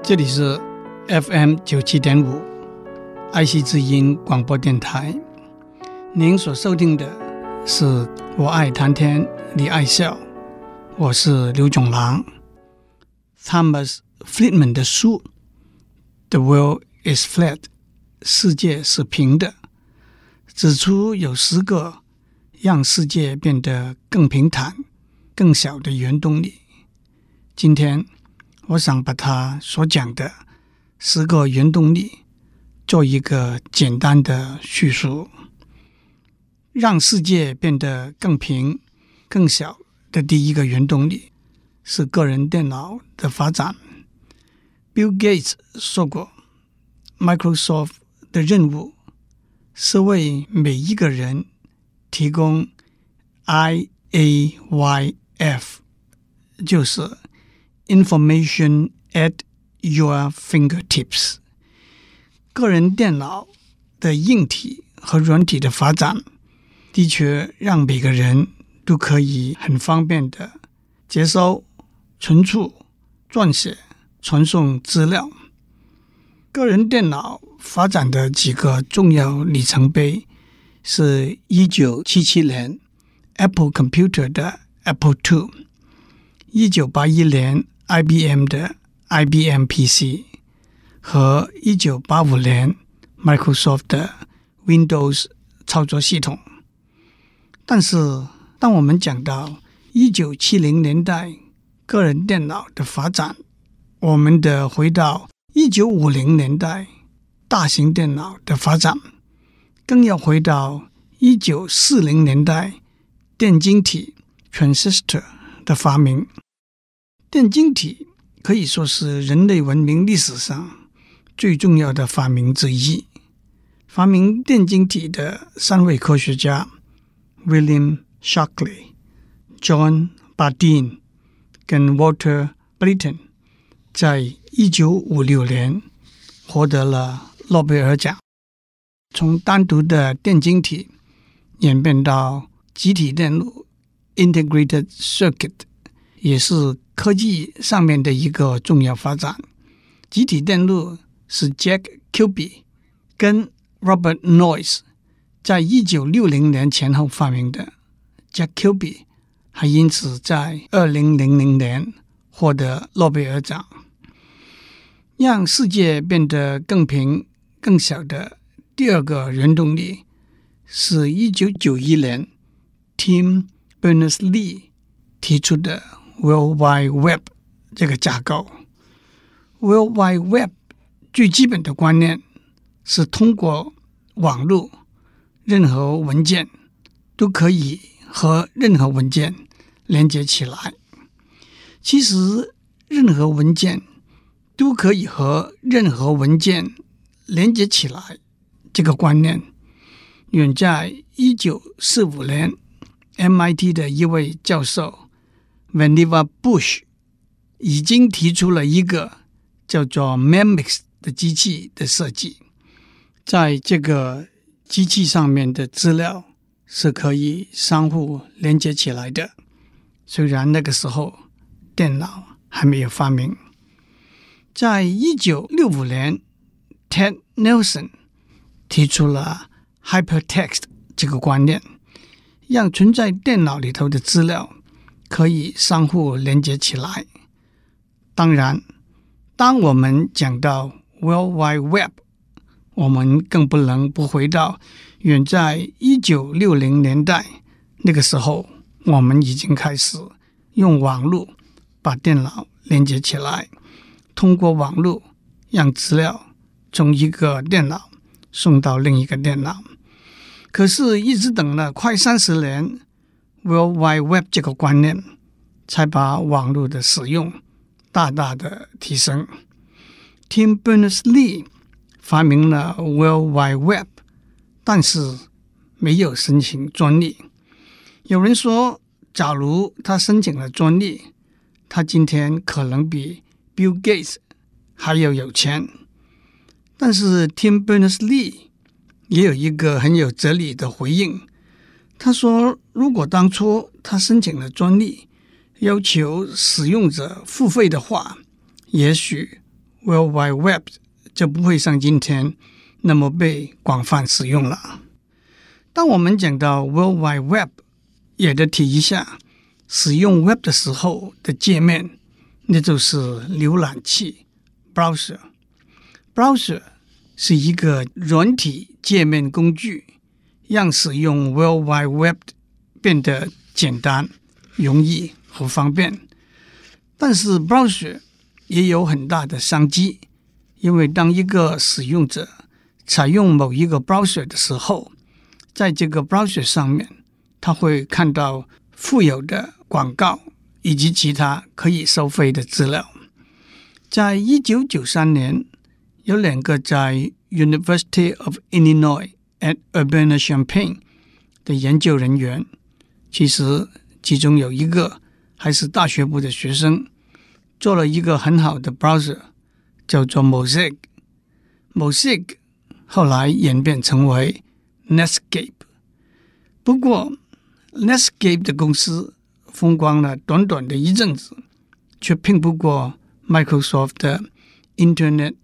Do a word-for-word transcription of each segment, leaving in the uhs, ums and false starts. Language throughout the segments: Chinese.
這裡是 F M 九七點五愛惜之音廣播電台，您所收聽的是我愛談天你愛笑，我是劉總郎。 Thomas Friedman 的書 The World is Flat 世界是平的，指出有十個讓世界變得更平坦更小的原動力。今天我想把他所講的十個原動力做一個簡單的敘述。讓世界變得更平更小的第一個原動力是個人電腦的發展。 Bill Gates 說過， Microsoft 的任務是為每一個人提供 I A Y F， 就是 Information at your fingertips。 個人電腦的硬體和軟體的發展的確讓每個人都可以很方便的接收、存儲、撰寫、傳送資料。個人電腦發展的幾個重要里程碑是一九七七年 Apple Computer 的 Apple 二， 一九八一年 I B M 的 I B M P C 和一九八五年 Microsoft 的 Windows 操作系統。但是當我們講到一九七零年代個人電腦的發展，我們得回到一九五零年代大型電腦的發展，更要回到一九四零年代電晶體 transistor 的發明。電晶體可以說是人類文明歷史上最重要的發明之一。發明電晶體的三位科學家 William Shockley、John Bardeen 跟 Walter Brittain 在一九五六年獲得了諾貝爾獎。從單獨的電晶體演變到集體電路 Integrated Circuit， 也是科技上面的一個重要發展。集體電路是 Jack Kilby 跟 Robert Noyce 在一九六零年前後發明的。 Jack Kilby 還因此在二零零零年獲得諾貝爾獎。讓世界變得更平更小的第二個原動力是一九九一年 Tim Berners-Lee 提出的 World Wide Web 這個架構。 World Wide Web 最基本的觀念是通過網絡，任何文件都可以和任何文件連接起來。其實任何文件都可以和任何文件連接起來，這個觀念遠在一九四五年 M I T 的一位教授 Vannevar Bush 已經提出了一個叫做 MEMIX 的機器的設計。在這個機器上面的資料是可以相互連接起來的，雖然那個時候電腦還沒有發明。在一九六五年 Ted Nelson 提出了 Hypertext 這個觀念，讓存在電腦裡頭的資料可以相互連接起來。當然，當我們講到 World Wide Web， 我們更不能不回到遠在一九六零年代，那個時候我們已經開始用網絡把電腦連接起來，通過網絡讓資料從一個電腦送到另一個電腦。可是一直等了快三十年， World Wide Web 這個觀念才把網絡的使用大大的提升。Tim Berners-Lee 發明了 World Wide Web， 但是沒有申請專利。有人說，假如他申請了專利，他今天可能比 Bill Gates 還要有錢。但是 Tim Berners-Lee 也有一個很有哲理的回應，他說，如果當初他申請了專利，要求使用者付費的話，也許 World Wide Web 就不會像今天那麼被廣泛使用了。當我們講到 World Wide Web， 也得提一下使用 Web 的時候的界面，那就是瀏覽器 Browser。Browser 是一個軟體界面工具，讓使用 World Wide Web 變得簡單、容易和方便。但是 Browser 也有很大的商機，因為當一個使用者採用某一個 Browser 的時候，在這個 Browser 上面，他會看到附有的廣告以及其他可以收費的資料。在一九九三年，有兩個在 University of Illinois at Urbana-Champaign 的研究人員，其實其中有一個還是大學部的學生，做了一個很好的 browser， 叫做 Mosaic。Mosaic 後來演變成為 Netscape。不過 Netscape 的公司風光了短短的一陣子，卻拼不過 Microsoft 的 Internet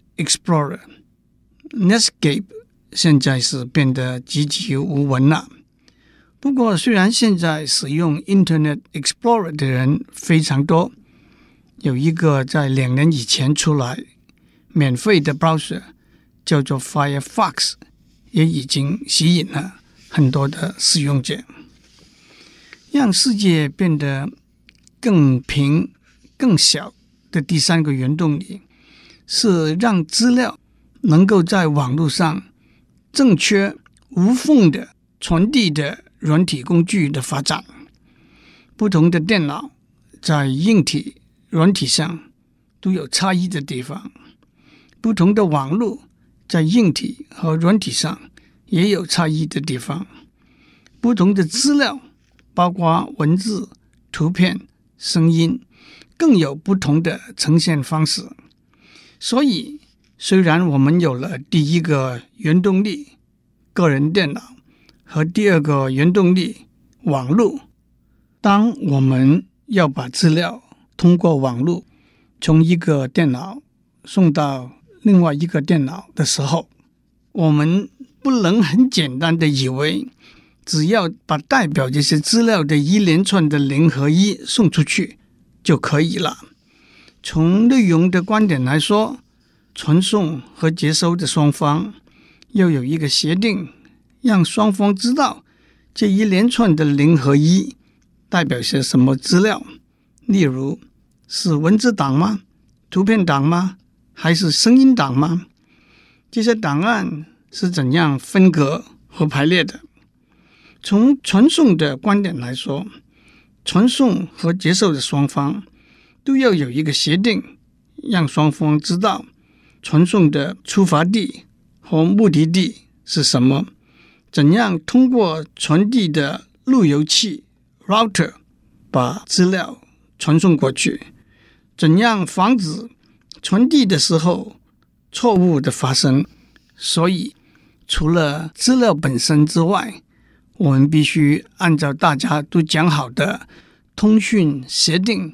Explorer。Netscape 現在是變得籍籍無聞了。不過雖然現在使用 Internet Explorer 的人非常多，有一個在兩年以前出來免費的 browser 叫做 Firefox， 也已經吸引了很多的使用者。讓世界變得更平更小的第三個原動力，是讓資料能夠在網絡上正確無縫的傳遞的軟體工具的發展。不同的電腦在硬體、軟體上都有差異的地方，不同的網絡在硬體和軟體上也有差異的地方，不同的資料包括文字、圖片、聲音，更有不同的呈現方式。所以雖然我們有了第一個原動力個人電腦和第二個原動力網絡，當我們要把資料通過網絡從一個電腦送到另外一個電腦的時候，我們不能很簡單的以為只要把代表這些資料的一連串的零和一送出去就可以了。從內容的觀點來說，傳送和接收的雙方要有一個協定，讓雙方知道這一連串的零和一代表些什麼資料。例如，是文字檔嗎？圖片檔嗎？還是聲音檔嗎？這些檔案是怎樣分隔和排列的？從傳送的觀點來說，傳送和接受的雙方都要有一個協定，讓雙方知道傳送的出發地和目的地是什麼，怎樣通過傳遞的路由器 router 把資料傳送過去，怎樣防止傳遞的時候錯誤的發生。所以除了資料本身之外，我們必須按照大家都講好的通訊協定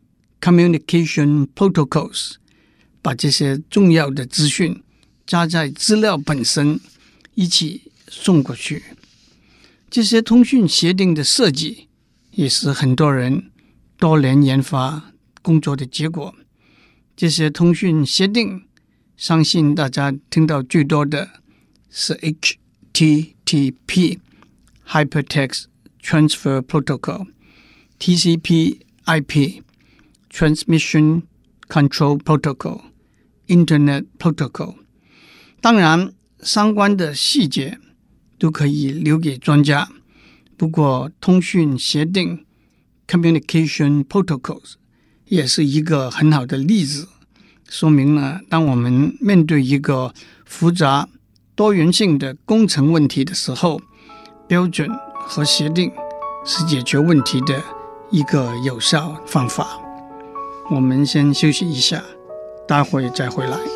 Communication Protocols， 把這些重要的資訊加在資料本身一起送過去。這些通訊協定的設計也是很多人多年研發工作的結果。這些通訊協定，相信大家聽到最多的是 H T T P Hypertext Transfer Protocol、T C P/I P Transmission Control Protocol、Internet Protocol。當然，相關的細節都可以留給專家。不過，通訊協定 Communication Protocols 也是一個很好的例子，說明了當我們面對一個複雜多元性的工程問題的時候，標準和協定是解決問題的一個有效方法。我們先休息一下，待會再回來。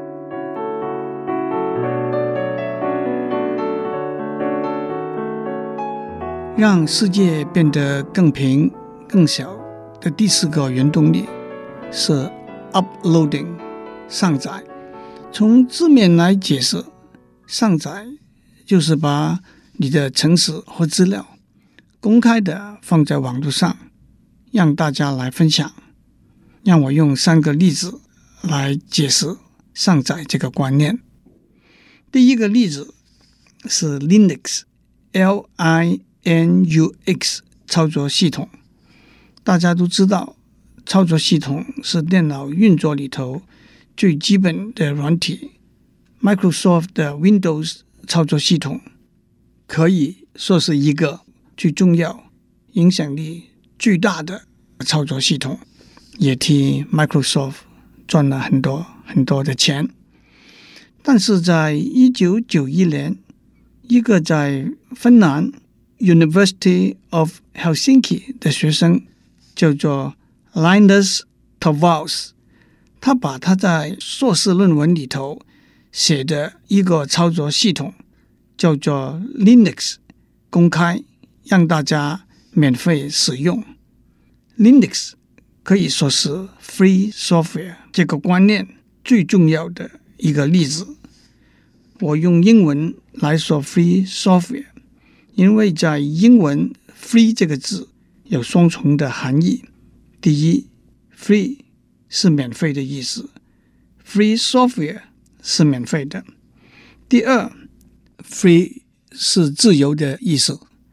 讓世界變得更平更小的第四個原動力是 uploading 上載。從字面來解釋，上載就是把你的程式和資料公開的放在網絡上，讓大家來分享。讓我用三個例子來解釋上載這個觀念。第一個例子是 Linux，L I N U X 操作系統。大家都知道，操作系統是電腦運作裡頭最基本的軟體。Microsoft 的 Windows 操作系統可以說是一個最重要、影響力最大的操作系統，也替 Microsoft 賺了很多很多的錢。但是在一九九一年，一個在芬蘭 University of Helsinki 的學生叫做 Linus Torvalds， 他把他在碩士論文裡頭寫的一個操作系統叫做 Linux 公開，讓大家免費使用。Linux 可以說是 free software 這個觀念最重要的一個例子。我用英文來說 free software， 因為在英文 free 這個字有雙重的含義。第一， free 是免費的意思， free software 是免費的。第二， free 是自由的意思，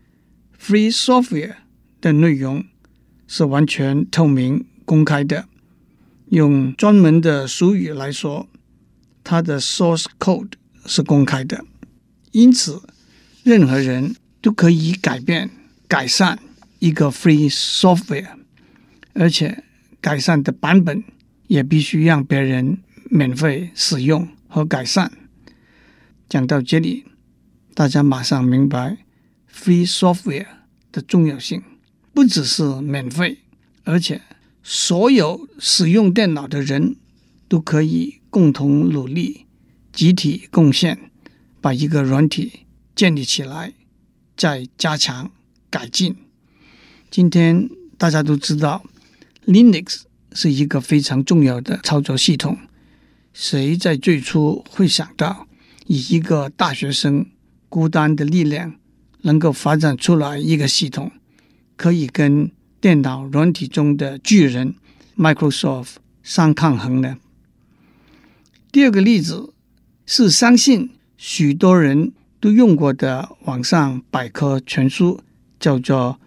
free software 的內容是完全透明公開的。用專門的俗語來說，它的 source code 是公開的，因此任何人都可以改變、改善一個 free software， 而且改善的版本也必須讓別人免費使用和改善。講到這裡，大家馬上明白 free software 的重要性，不只是免費，而且所有使用電腦的人都可以共同努力，集體貢獻，把一個軟體建立起來，再加強改進。今天大家都知道 Linux 是一個非常重要的操作系統，誰在最初會想到以一個大學生孤單的力量能夠發展出來一個系統，可以跟電腦軟體中的巨人 Microsoft 相抗衡呢？第二個例子是相信許多人都用過的網上百科全書，叫做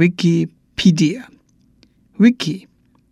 Wikipedia。Wiki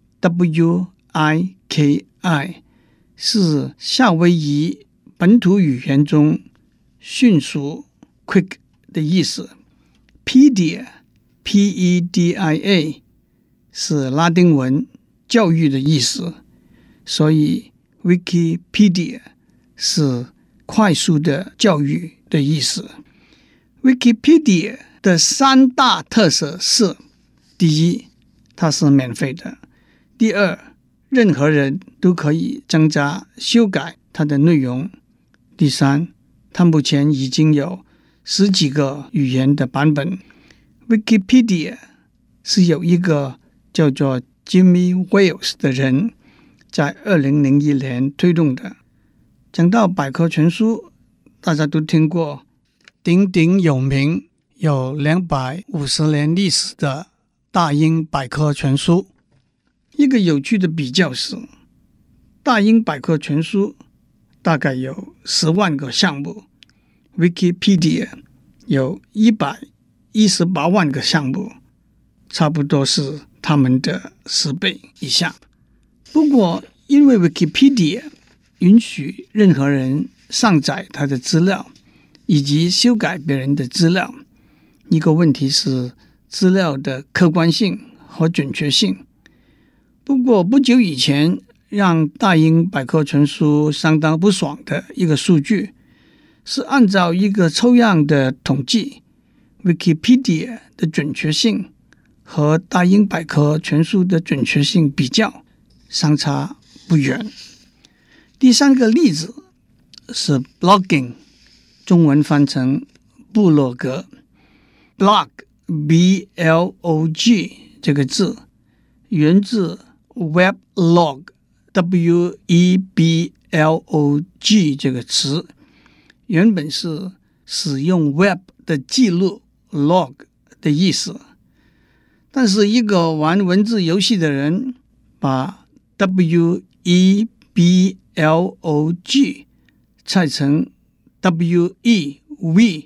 W I K I 是夏威夷本土語言中迅速 quick 的意思。Pedia P E D I A 是拉丁文教育的意思，所以 Wikipedia 是快速的教育的意思。Wikipedia 的三大特色是：第一，它是免費的；第二，任何人都可以增加、修改它的內容；第三，它目前已經有十幾個語言的版本。Wikipedia 是有一個叫做 Jimmy Wales 的人在二零零一年推動的。講到百科全書，大家都聽過鼎鼎有名、有兩百五十年歷史的大英百科全書。一個有趣的比較是，大英百科全書大概有十萬個項目， Wikipedia 有一百一十八萬個項目，差不多是他們的十倍以下。不過，因為 Wikipedia 允許任何人上載他的資料，以及修改別人的資料，一個問題是資料的客觀性和準確性。不過，不久以前，讓大英百科全書相當不爽的一個數據，是按照一個抽樣的統計， Wikipedia 的準確性和大英百科全書的準確性比較相差不遠。第三個例子是 blogging， 中文翻成部落格。blog B L O G 這個字源自 weblog W E B L O G 這個詞，原本是使用 Web 的記錄 log 的意思，但是一個玩文字遊戲的人把 W E B L O G 拆成 W E V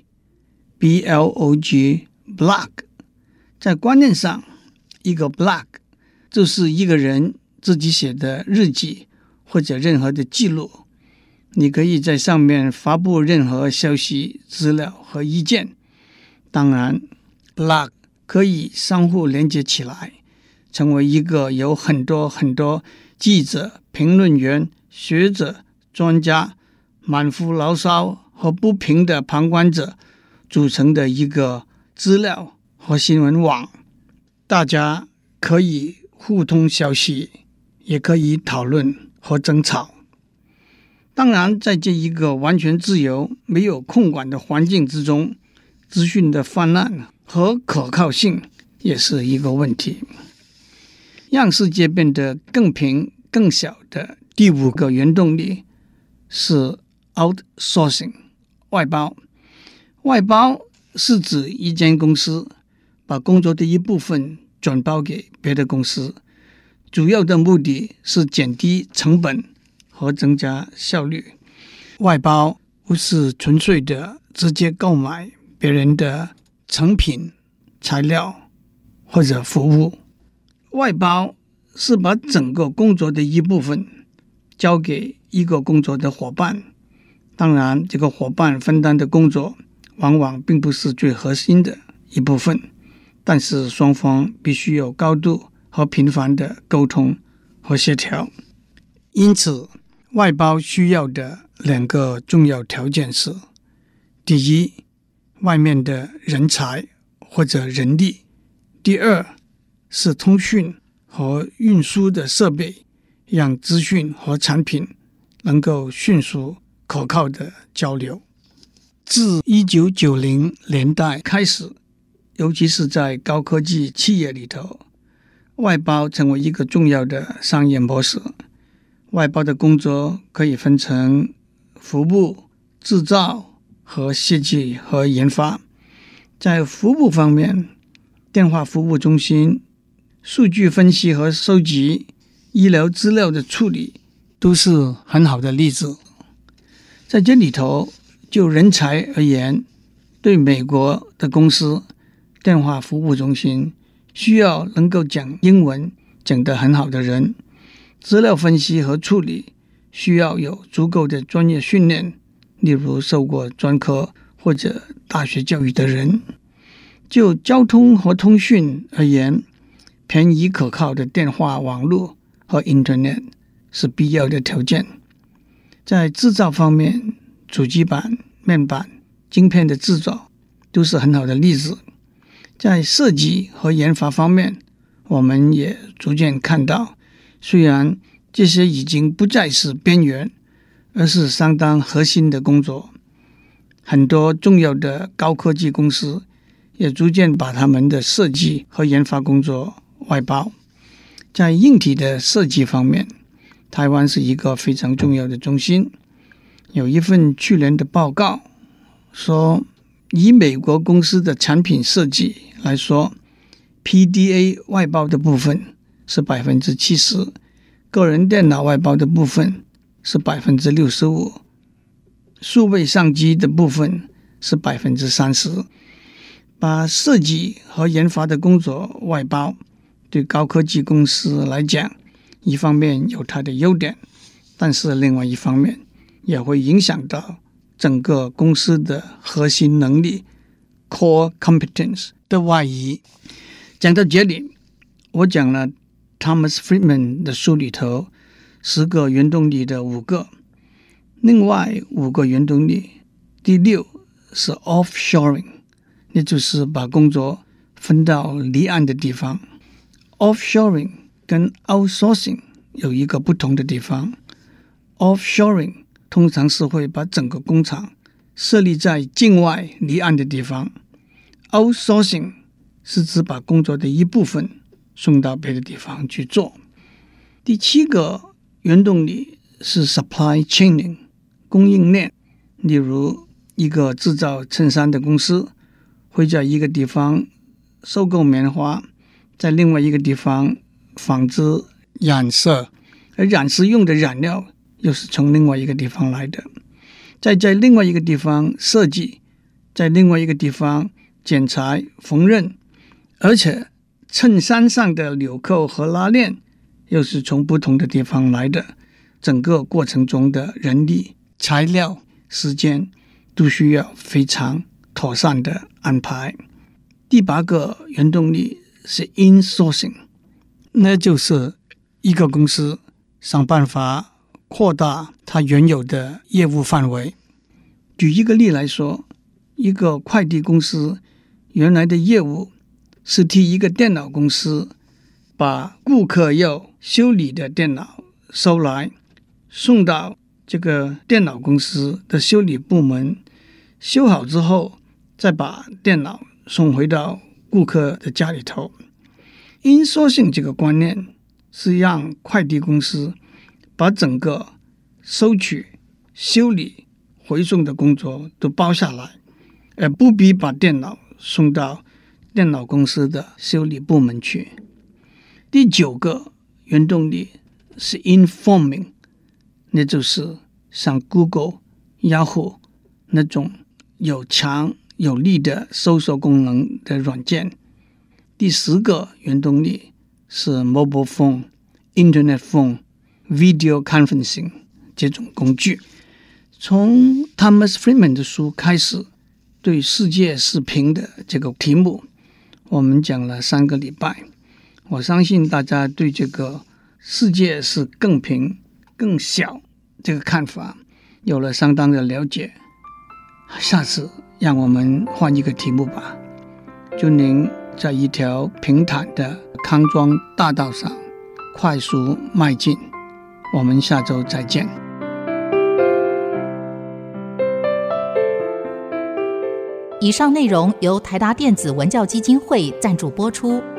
B L O G blog， 在觀念上，一個 blog 就是一個人自己寫的日記或者任何的記錄，你可以在上面發布任何消息、資料和意見。當然 blog 可以相互連接起來，成為一個有很多很多記者、評論員、學者、專家、滿腹牢騷和不平的旁觀者組成的一個資料和新聞網。大家可以互通消息，也可以討論和爭吵。當然，在這一個完全自由、沒有控管的環境之中，資訊的氾濫和可靠性也是一個問題。讓世界變得更平、更小的第五個原動力是 outsourcing 外包。外包是指一間公司把工作的一部分轉包給別的公司，主要的目的是減低成本和增加效率。外包不是純粹的直接購買別人的成品、材料或者服務，外包是把整個工作的一部分交給一個工作的夥伴。當然，這個夥伴分擔的工作往往並不是最核心的一部分，但是雙方必須有高度和頻繁的溝通和協調。因此，外包需要的兩個重要條件是：第一，外面的人才或者人力；第二，是通訊和運輸的設備，讓資訊和產品能夠迅速可靠的交流。自一九九零年代開始，尤其是在高科技企業裡頭，外包成為一個重要的商業模式。外包的工作可以分成服務、製造和設計和研發。在服務方面，電話服務中心、數據分析和收集、醫療資料的處理都是很好的例子。在這裡頭，就人才而言，對美國的公司，電話服務中心需要能夠講英文講得很好的人，資料分析和處理需要有足夠的專業訓練，例如受過專科或者大學教育的人。就交通和通訊而言，便宜可靠的電話網絡和 Internet 是必要的條件。在製造方面，主機板、面板、晶片的製造都是很好的例子。在設計和研發方面，我們也逐漸看到，雖然這些已經不再是邊緣，而是相當核心的工作。很多重要的高科技公司也逐漸把他們的設計和研發工作外包。在硬體的設計方面，台灣是一個非常重要的中心。有一份去年的報告說，以美國公司的產品設計來說， P D A 外包的部分是百分之七十，個人電腦外包的部分是百分之六十五，數位相機的部分是百分之三十。把設計和研發的工作外包，對高科技公司來講，一方面有它的優點，但是另外一方面也會影響到整個公司的核心能力 core competence 的外移。講到這裡，我講了 Thomas Friedman 的書裡頭十個原動力的五個，另外五個原動力，第六是 offshoring， 也就是把工作分到離岸的地方。offshoring 跟 outsourcing 有一個不同的地方， offshoring 通常是會把整個工廠設立在境外離岸的地方， outsourcing 是指把工作的一部分送到別的地方去做。第七個原動力是 supply chain 供應鏈，例如一個製造襯衫的公司會在一個地方收購棉花，在另外一個地方紡織染色，而染色用的染料又是從另外一個地方來的，再在另外一個地方設計，在另外一個地方剪裁縫紉，而且襯衫上的紐扣和拉鏈又是從不同的地方來的，整個過程中的人力、材料、時間都需要非常妥善的安排。第八個原動力是 insourcing， 那就是一個公司想辦法擴大它原有的業務範圍。舉一個例來說，一個快遞公司原來的業務是替一個電腦公司把顧客要修理的電腦收來，送到這個電腦公司的修理部門，修好之後再把電腦送回到顧客的家裡頭。insourcing這個觀念是讓快遞公司把整個收取、修理、回送的工作都包下來，而不必把電腦送到電腦公司的修理部門去。第九個原動力是 informing， 那就是像 Google、Yahoo 那種有強有力的搜索功能的軟件。第十個原動力是 mobile phone、internet phone、video conferencing 這種工具。從 Thomas Friedman 的書開始，對世界是平的這個題目，我們講了三個禮拜。我相信大家對這個世界是更平、更小這個看法有了相當的了解。下次讓我們換一個題目吧。祝您在一條平坦的康莊大道上快速邁進。我們下周再見。 以上內容由台達電子文教基金會贊助播出。